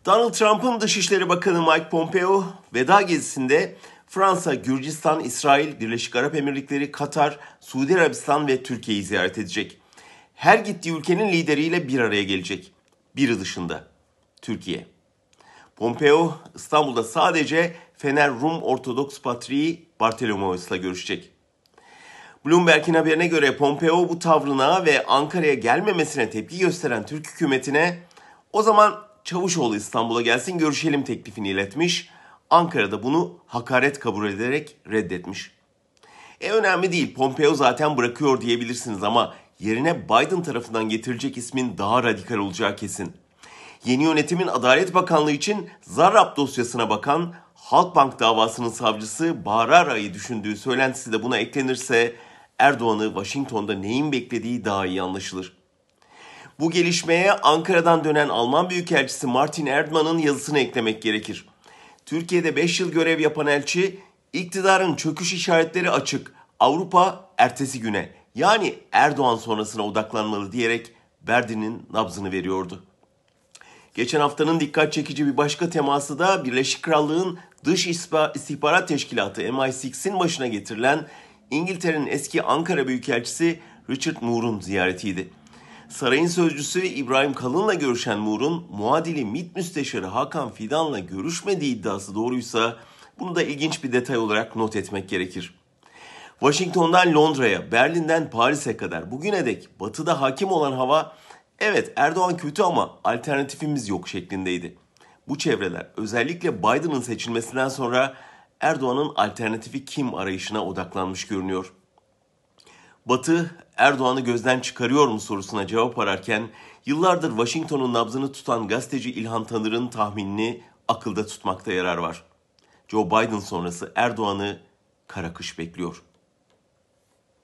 Donald Trump'ın Dışişleri Bakanı Mike Pompeo veda gezisinde Fransa, Gürcistan, İsrail, Birleşik Arap Emirlikleri, Katar, Suudi Arabistan ve Türkiye'yi ziyaret edecek. Her gittiği ülkenin lideriyle bir araya gelecek. Biri dışında. Türkiye. Pompeo İstanbul'da sadece Fener Rum Ortodoks Patriği Bartolomeos'la görüşecek. Bloomberg'in haberine göre Pompeo bu tavrına ve Ankara'ya gelmemesine tepki gösteren Türk hükümetine o zaman Çavuşoğlu İstanbul'a gelsin görüşelim teklifini iletmiş. Ankara'da bunu hakaret kabul ederek reddetmiş. Önemli değil, Pompeo zaten bırakıyor diyebilirsiniz ama yerine Biden tarafından getirilecek ismin daha radikal olacağı kesin. Yeni yönetimin Adalet Bakanlığı için Zarrab dosyasına bakan Halkbank davasının savcısı Bahar Ara'yı düşündüğü söylentisi de buna eklenirse Erdoğan'ı Washington'da neyin beklediği daha iyi anlaşılır. Bu gelişmeye Ankara'dan dönen Alman Büyükelçisi Martin Erdman'ın yazısını eklemek gerekir. Türkiye'de 5 yıl görev yapan elçi, iktidarın çöküş işaretleri açık, Avrupa ertesi güne yani Erdoğan sonrasına odaklanmalı diyerek Berlin'in nabzını veriyordu. Geçen haftanın dikkat çekici bir başka teması da Birleşik Krallık'ın Dış İstihbarat Teşkilatı MI6'in başına getirilen İngiltere'nin eski Ankara Büyükelçisi Richard Moore'un ziyaretiydi. Sarayın sözcüsü İbrahim Kalın'la görüşen Moore'un muadili MİT Müsteşarı Hakan Fidan'la görüşmediği iddiası doğruysa bunu da ilginç bir detay olarak not etmek gerekir. Washington'dan Londra'ya, Berlin'den Paris'e kadar bugüne dek batıda hakim olan hava evet Erdoğan kötü ama alternatifimiz yok şeklindeydi. Bu çevreler özellikle Biden'ın seçilmesinden sonra Erdoğan'ın alternatifi kim arayışına odaklanmış görünüyor. Batı Erdoğan'ı gözden çıkarıyor mu sorusuna cevap ararken yıllardır Washington'un nabzını tutan gazeteci İlhan Tanır'ın tahminini akılda tutmakta yarar var. Joe Biden sonrası Erdoğan'ı kara kış bekliyor.